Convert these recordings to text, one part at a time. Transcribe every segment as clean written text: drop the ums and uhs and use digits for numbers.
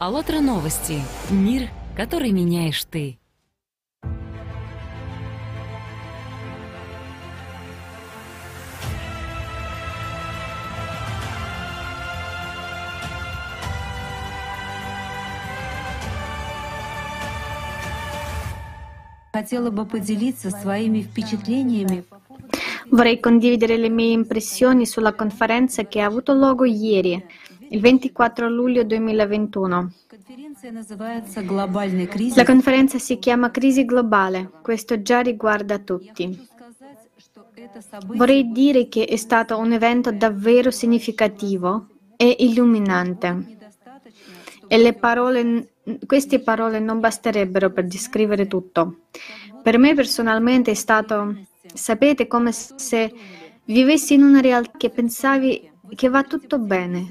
АЛЛАТРА новости. Мир, который меняешь ты. Хотела бы поделиться своими впечатлениями. Vorrei condividere le mie impressioni sulla conferenza che ha avuto luogo ieri, il 24 luglio 2021. La conferenza si chiama Crisi globale, questo già riguarda tutti. Vorrei dire che è stato un evento davvero significativo e illuminante. E queste parole non basterebbero per descrivere tutto. Per me personalmente è stato, sapete, come se vivessi in una realtà che pensavi che va tutto bene.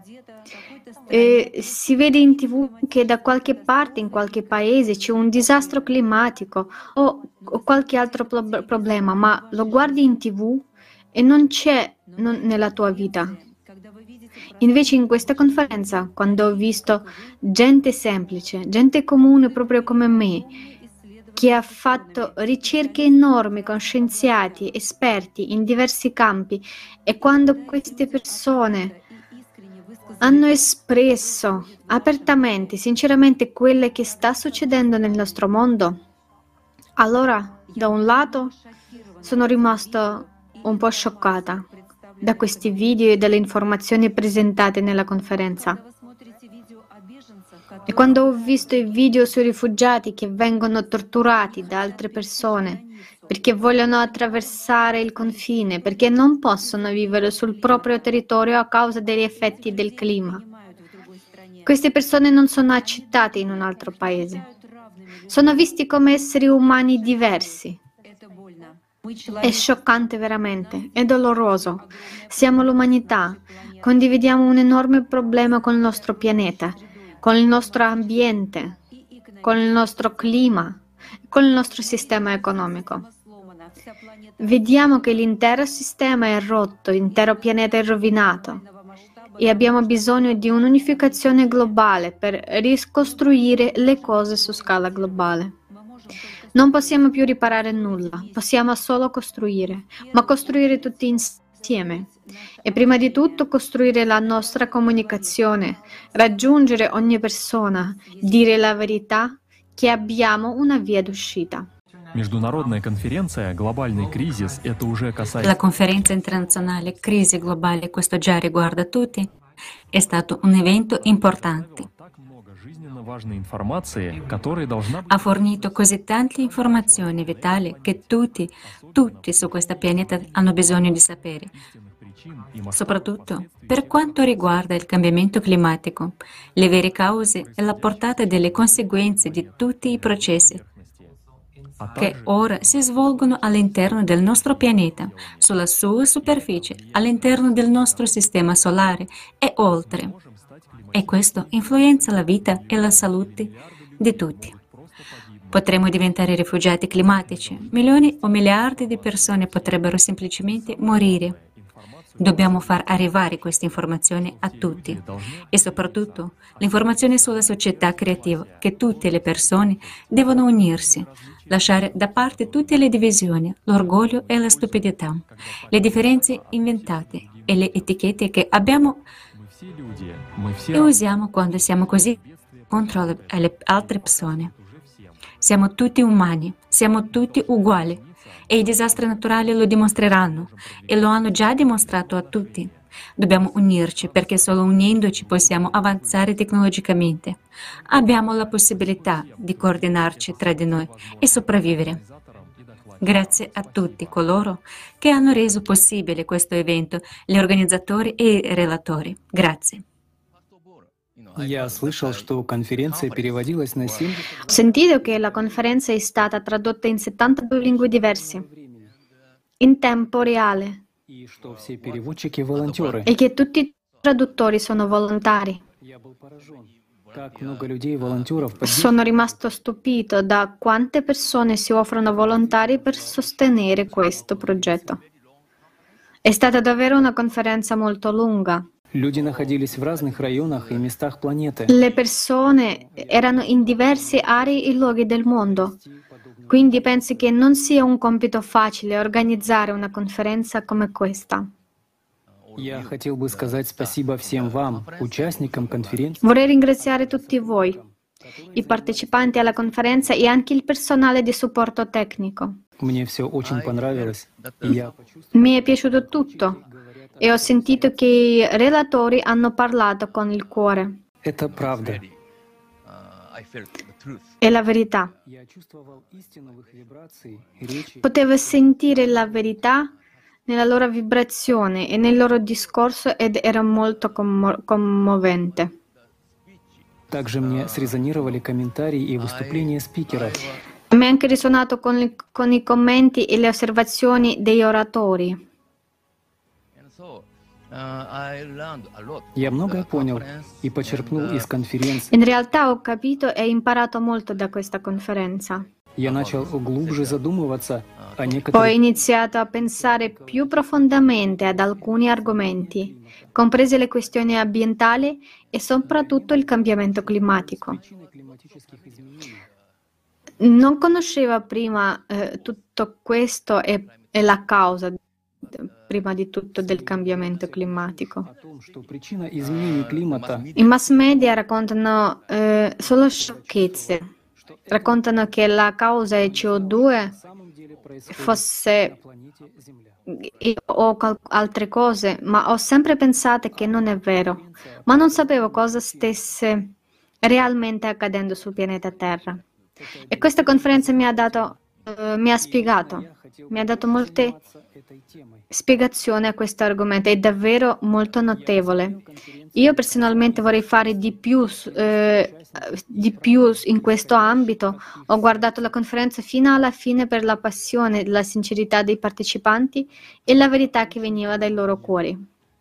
E si vede in TV che da qualche parte, in qualche paese, c'è un disastro climatico o qualche altro problema, ma lo guardi in TV e non c'è nella tua vita. Invece in questa conferenza, quando ho visto gente semplice, gente comune proprio come me, che ha fatto ricerche enormi con scienziati, esperti in diversi campi, e quando queste persone hanno espresso apertamente, sinceramente, quello che sta succedendo nel nostro mondo, allora, da un lato, sono rimasto un po' scioccata da questi video e dalle informazioni presentate nella conferenza. E quando ho visto i video sui rifugiati che vengono torturati da altre persone perché vogliono attraversare il confine, perché non possono vivere sul proprio territorio a causa degli effetti del clima. Queste persone non sono accettate in un altro paese. Sono visti come esseri umani diversi. È scioccante veramente, è doloroso. Siamo l'umanità, condividiamo un enorme problema con il nostro pianeta, con il nostro ambiente, con il nostro clima, con il nostro sistema economico. Vediamo che l'intero sistema è rotto, l'intero pianeta è rovinato e abbiamo bisogno di un'unificazione globale per ricostruire le cose su scala globale. Non possiamo più riparare nulla, possiamo solo costruire, ma costruire tutti insieme. E prima di tutto costruire la nostra comunicazione, raggiungere ogni persona, dire la verità che abbiamo una via d'uscita. Международная конференция «Глобальный кризис» — это уже касается... La conferenza internazionale Crisi globale, questo già riguarda tutti, è stato un evento importante. Ha fornito così tante informazioni vitali che tutti su questo pianeta hanno bisogno di sapere, soprattutto per quanto riguarda il cambiamento climatico, le vere cause e la portata delle conseguenze di tutti i processi che ora si svolgono all'interno del nostro pianeta, sulla sua superficie, all'interno del nostro sistema solare e oltre. E questo influenza la vita e la salute di tutti. Potremmo diventare rifugiati climatici. Milioni o miliardi di persone potrebbero semplicemente morire. Dobbiamo far arrivare queste informazioni a tutti e soprattutto l'informazione sulla società creativa, che tutte le persone devono unirsi, lasciare da parte tutte le divisioni, l'orgoglio e la stupidità, le differenze inventate e le etichette che abbiamo e usiamo quando siamo così contro le altre persone. Siamo tutti umani, siamo tutti uguali e i disastri naturali lo dimostreranno e lo hanno già dimostrato a tutti. Dobbiamo unirci perché solo unendoci possiamo avanzare tecnologicamente. Abbiamo la possibilità di coordinarci tra di noi e sopravvivere. Grazie a tutti coloro che hanno reso possibile questo evento, gli organizzatori e i relatori. Grazie. Я слышал, что конференция переводилась на 7... Ho sentito che la conferenza è stata tradotta in 72 lingue diverse, in tempo reale, и что все переводчики волонтеры. e che tutti i traduttori sono volontari. Я был поражен, как много людей волонтеров Sono rimasto stupito da quante persone si offrono volontari per sostenere questo progetto. È stata davvero una conferenza molto lunga. Люди находились в разных районах и местах планеты. Le persone erano in diverse aree e luoghi del mondo, quindi penso che non sia un compito facile organizzare una conferenza come questa. Я хотел бы сказать спасибо всем вам, участникам конференции. Vorrei ringraziare tutti voi, i partecipanti alla conferenza e anche il personale di supporto tecnico. Мне все очень понравилось, и я Mi è piaciuto tutto e ho sentito che i relatori hanno parlato con il cuore. Это правда. È la verità. Я чувствовал истину в их вибрации, речи. Potevo sentire la verità nella loro vibrazione e nel loro discorso ed era molto commovente. Также мне срезонировали комментарии и выступления спикеров. Mi ha anche risuonato con i commenti e le osservazioni degli oratori. Я многое понял и почерпнул из конференции. In realtà ho capito e imparato molto da questa conferenza. Я начал глубже задумываться о Ho некоторых iniziato a pensare più profondamente ad alcuni argomenti, comprese le questioni ambientali e soprattutto il cambiamento climatico. причинах климатических изменений. Non conoscevo prima tutto questo e la causa, prima di tutto, del cambiamento climatico. О том, что причина изменений климата I mass media raccontano solo sciocchezze. Raccontano che la causa è CO2 на самом деле происходит fosse на планете Земля. o altre cose, ma ho sempre pensato che non è vero, ma non sapevo cosa stesse realmente accadendo sul pianeta Terra. E questa conferenza mi ha spiegato, mi ha dato molte Заниматься этой темой. spiegazioni a questo argomento, è davvero molto notevole. Io personalmente vorrei fare di più in questo ambito. Ho guardato la conferenza fino alla fine per la passione, la sincerità dei partecipanti e la verità che veniva dai loro cuori.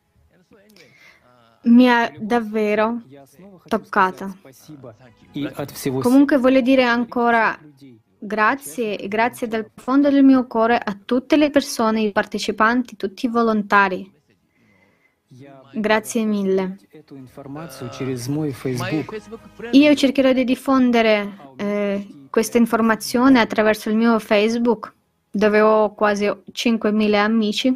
Mi ha davvero Я снова хочу toccata. сказать спасибо и от всего Comunque voglio dire ancora людей. grazie e grazie dal profondo del mio cuore a tutte le persone, i partecipanti, tutti i volontari. Я Grazie mille. эту информацию через мой Facebook. Io cercherò di diffondere questa informazione attraverso il mio Facebook, dove ho quasi 5.000 amici.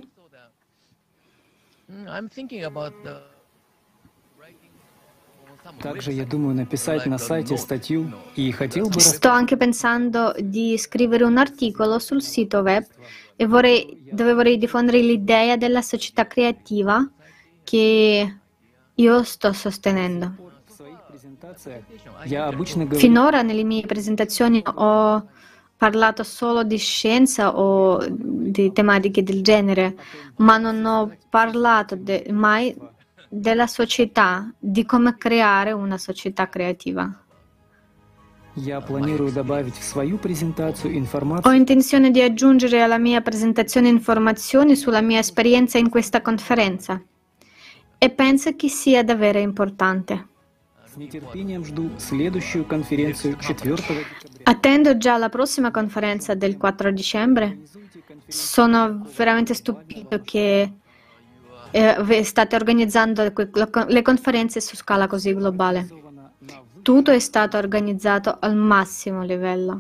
Также я думаю написать на сайте статью и хотел бы Sto anche pensando di scrivere un articolo sul sito web e dove vorrei diffondere l'idea della società creativa che io sto sostenendo. в своих презентациях я обычно говорю Finora nelle mie presentazioni ho parlato solo di scienza o di tematiche del genere, ma non ho parlato mai della società, di come creare una società creativa. я планирую добавить в свою презентацию Ho информацию intenzione di aggiungere alla mia presentazione informazioni sulla mia esperienza in questa conferenza e penso che sia davvero importante. С нетерпением жду следующую конференцию 4 декабря. Attendo già la prossima conferenza del 4 dicembre. Sono veramente stupito che state organizzando le conferenze su scala così globale. Tutto è stato organizzato al massimo livello.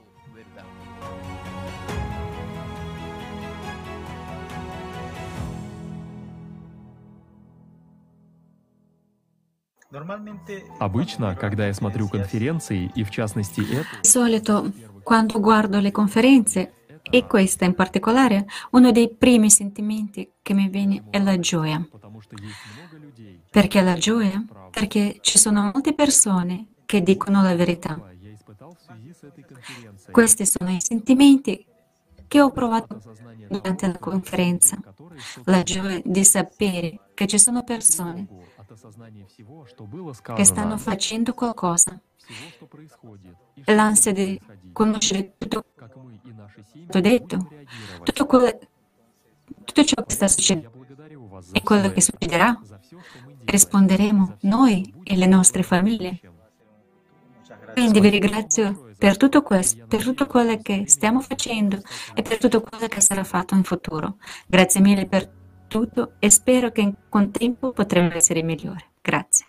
Обычно, когда я смотрю конференции, и в частности эту, Di solito, quando guardo le conferenze, e questa in particolare, uno dei primi sentimenti che mi viene è la gioia. потому что есть много людей, Perché la gioia? Perché ci sono molte persone che dicono la verità. я испытал в связи с этой конференцией. Questi sono i sentimenti che ho provato Осознание durante la conferenza. которые La gioia di sapere che ci sono persone от осознания всего, что было che stanno сказано, facendo qualcosa. всего, что происходит, и что L'ansia будет di происходить, conoscere tutto как мы и наши семьи quanto detto, будем реагировать. tutto ciò che sta succedendo Я благодарю вас за e quello все che это, succederà. за все, что мы делаем, Risponderemo noi e le nostre famiglie. Quindi vi ringrazio per tutto questo, per tutto quello che stiamo facendo e per tutto quello che sarà fatto in futuro. Grazie mille per tutto e spero che con tempo potremo essere migliori. Grazie.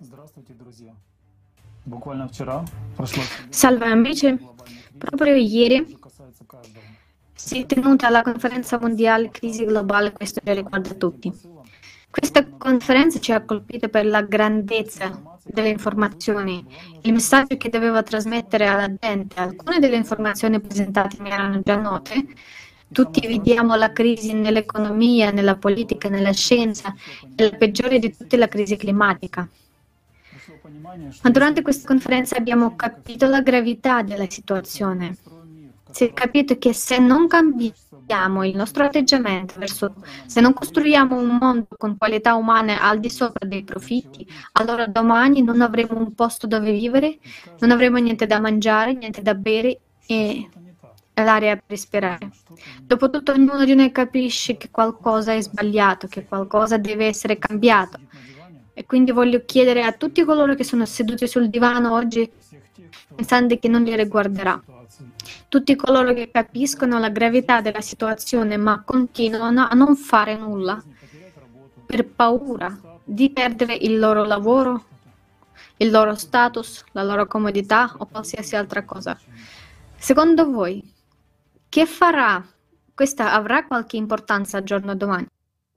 Salve amici, proprio ieri si è tenuta la conferenza mondiale Crisi globale, questo già riguarda tutti. Questa conferenza ci ha colpito per la grandezza delle informazioni, il messaggio che doveva trasmettere alla gente. Alcune delle informazioni presentate mi erano già note. Tutti vediamo la crisi nell'economia, nella politica, nella scienza e la peggiore di tutte la crisi climatica. Ma durante questa conferenza abbiamo capito la gravità della situazione. Si è capito che se non cambiamo il nostro atteggiamento se non costruiamo un mondo con qualità umane al di sopra dei profitti, allora domani non avremo un posto dove vivere, non avremo niente da mangiare, niente da bere e l'aria per respirare. Dopotutto ognuno di noi capisce che qualcosa è sbagliato, che qualcosa deve essere cambiato. E quindi voglio chiedere a tutti coloro che sono seduti sul divano oggi pensando che non li riguarderà. Tutti coloro che capiscono la gravità della situazione ma continuano a non fare nulla per paura di perdere il loro lavoro, il loro status, la loro comodità o qualsiasi altra cosa. Secondo voi, che farà? Questa avrà qualche importanza al giorno domani?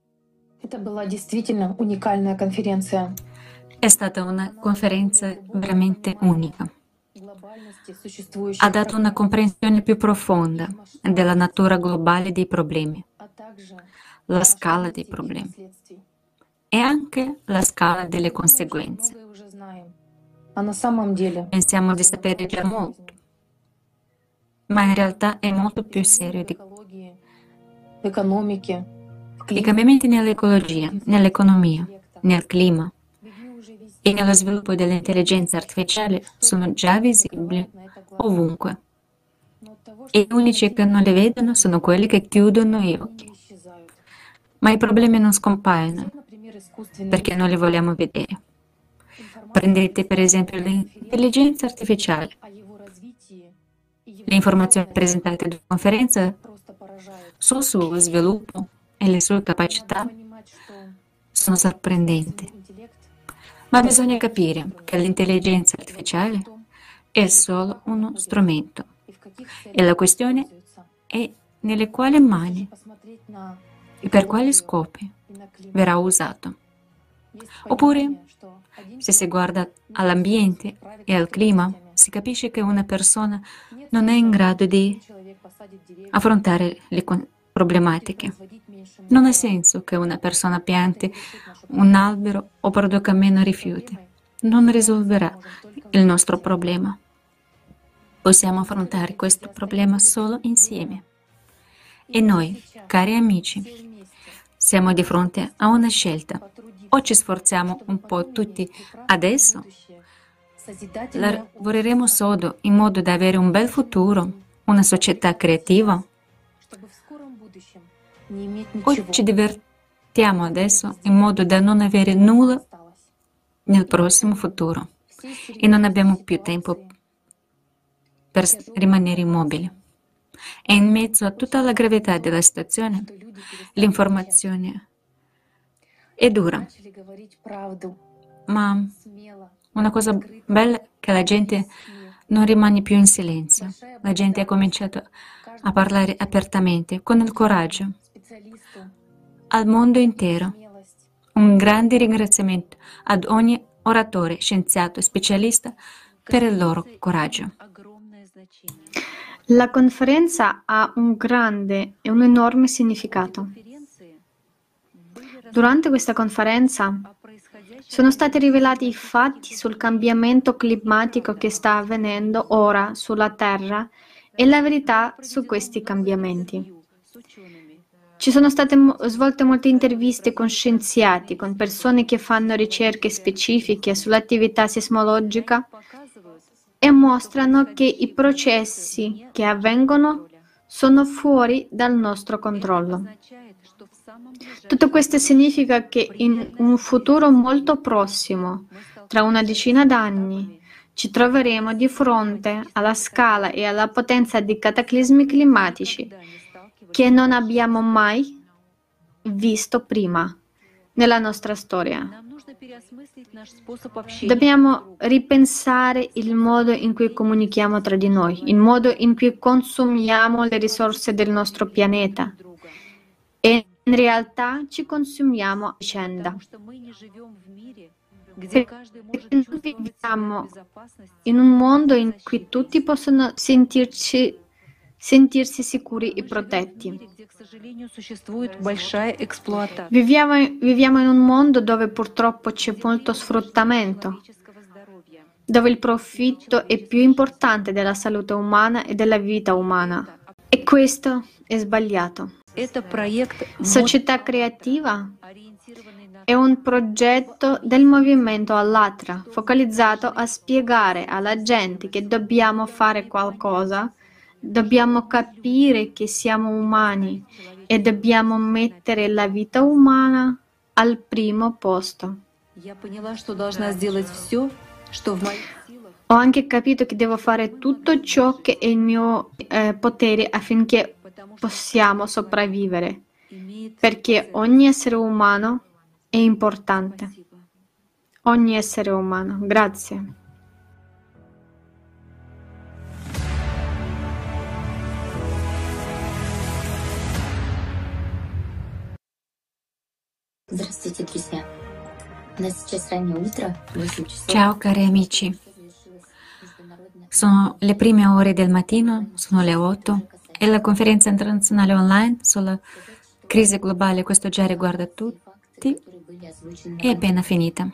È stata una conferenza veramente unica. Ha dato una comprensione più profonda della natura globale dei problemi, la scala dei problemi e anche la scala delle conseguenze. Pensiamo di sapere già molto, ma in realtà è molto più serio di i cambiamenti nell'ecologia, nell'economia, nel clima e nello sviluppo dell'intelligenza artificiale sono già visibili ovunque. E gli unici che non li vedono sono quelli che chiudono gli occhi. Ma i problemi non scompaiono perché non li vogliamo vedere. Prendete per esempio l'intelligenza artificiale. Le informazioni presentate in conferenza sul suo sviluppo e le sue capacità sono sorprendenti. Ma bisogna capire che l'intelligenza artificiale è solo uno strumento e la questione è nelle quali mani e per quali scopi verrà usato. Oppure, se si guarda all'ambiente e al clima, si capisce che una persona non è in grado di affrontare le problematiche. Non ha senso che una persona pianti un albero o produca meno rifiuti. Non risolverà il nostro problema. Possiamo affrontare questo problema solo insieme. E noi, cari amici, siamo di fronte a una scelta. O ci sforziamo un po' tutti adesso, lavoreremo sodo in modo da avere un bel futuro, una società creativa, o ci divertiamo adesso in modo da non avere nulla nel prossimo futuro e non abbiamo più tempo per rimanere immobili. E in mezzo a tutta la gravità della situazione, l'informazione è dura. Ma una cosa bella è che la gente non rimane più in silenzio. La gente ha cominciato a parlare apertamente, con il coraggio, al mondo intero. Un grande ringraziamento ad ogni oratore, scienziato e specialista per il loro coraggio. La conferenza ha un grande e un enorme significato. Durante questa conferenza sono stati rivelati i fatti sul cambiamento climatico che sta avvenendo ora sulla Terra e la verità su questi cambiamenti. Ci sono state svolte molte interviste con scienziati, con persone che fanno ricerche specifiche sull'attività sismologica e mostrano che i processi che avvengono sono fuori dal nostro controllo. Tutto questo significa che in un futuro molto prossimo, tra una decina d'anni, ci troveremo di fronte alla scala e alla potenza di cataclismi climatici che non abbiamo mai visto prima nella nostra storia. Dobbiamo ripensare il modo in cui comunichiamo tra di noi, il modo in cui consumiamo le risorse del nostro pianeta e in realtà ci consumiamo a vicenda. Perché noi viviamo in un mondo in cui tutti possono sentirsi sicuri e protetti. Viviamo in un mondo dove purtroppo c'è molto sfruttamento, dove il profitto è più importante della salute umana e della vita umana. E questo è sbagliato. Società creativa è un progetto del movimento Allatra, focalizzato a spiegare alla gente che dobbiamo fare qualcosa, dobbiamo capire che siamo umani e dobbiamo mettere la vita umana al primo posto. Ho anche capito che devo fare tutto ciò che è in mio potere affinché possiamo sopravvivere, perché ogni essere umano è importante. Ogni essere umano. Grazie. Ciao cari amici, sono le prime ore del mattino, sono le 8 e la conferenza internazionale online sulla crisi globale, questo già riguarda tutti, è appena finita.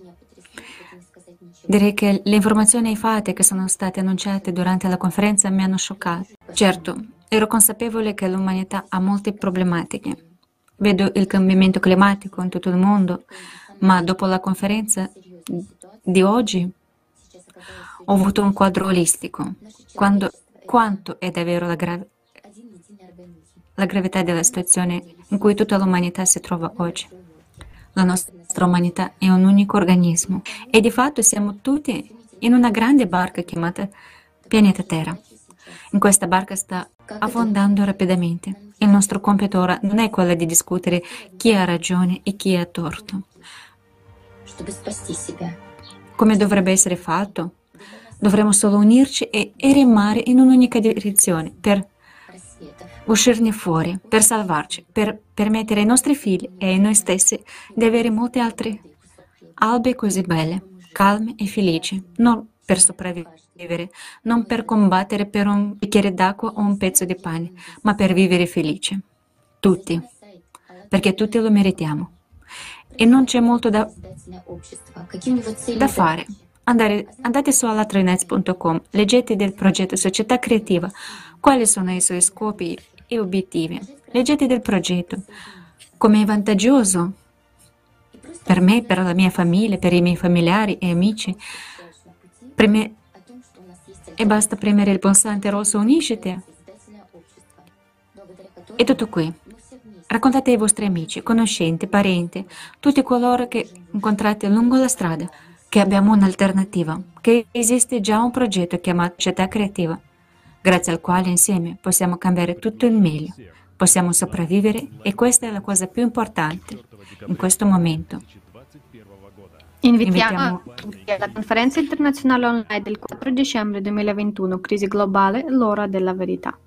Direi che le informazioni e i fatti che sono stati annunciati durante la conferenza mi hanno scioccato. Certo, ero consapevole che l'umanità ha molte problematiche. Vedo il cambiamento climatico in tutto il mondo, ma dopo la conferenza di oggi ho avuto un quadro olistico. Quanto è davvero la gravità della situazione in cui tutta l'umanità si trova oggi. La nostra umanità è un unico organismo e di fatto siamo tutti in una grande barca chiamata pianeta Terra. In questa barca sta affondando rapidamente. Il nostro compito ora non è quello di discutere chi ha ragione e chi ha torto. Come dovrebbe essere fatto? Dovremmo solo unirci e remare in un'unica direzione per uscirne fuori, per salvarci, per permettere ai nostri figli e a noi stessi di avere molte altre albe così belle, calme e felici, non per sopravvivere, non per combattere per un bicchiere d'acqua o un pezzo di pane, ma per vivere felici. Tutti, perché tutti lo meritiamo. E non c'è molto da fare. Andate su allatrainets.com, leggete del progetto Società Creativa, quali sono i suoi scopi e obiettivi. Leggete del progetto, come è vantaggioso per me, per la mia famiglia, per i miei familiari e amici. E basta premere il pulsante rosso Unisciti. È tutto qui. Raccontate ai vostri amici, conoscenti, parenti, tutti coloro che incontrate lungo la strada, che abbiamo un'alternativa, che esiste già un progetto chiamato Società Creativa, grazie al quale insieme possiamo cambiare tutto in meglio, possiamo sopravvivere e questa è la cosa più importante in questo momento. Invitiamo tutti alla conferenza internazionale online del 4 dicembre 2021, Crisi globale, l'ora della verità.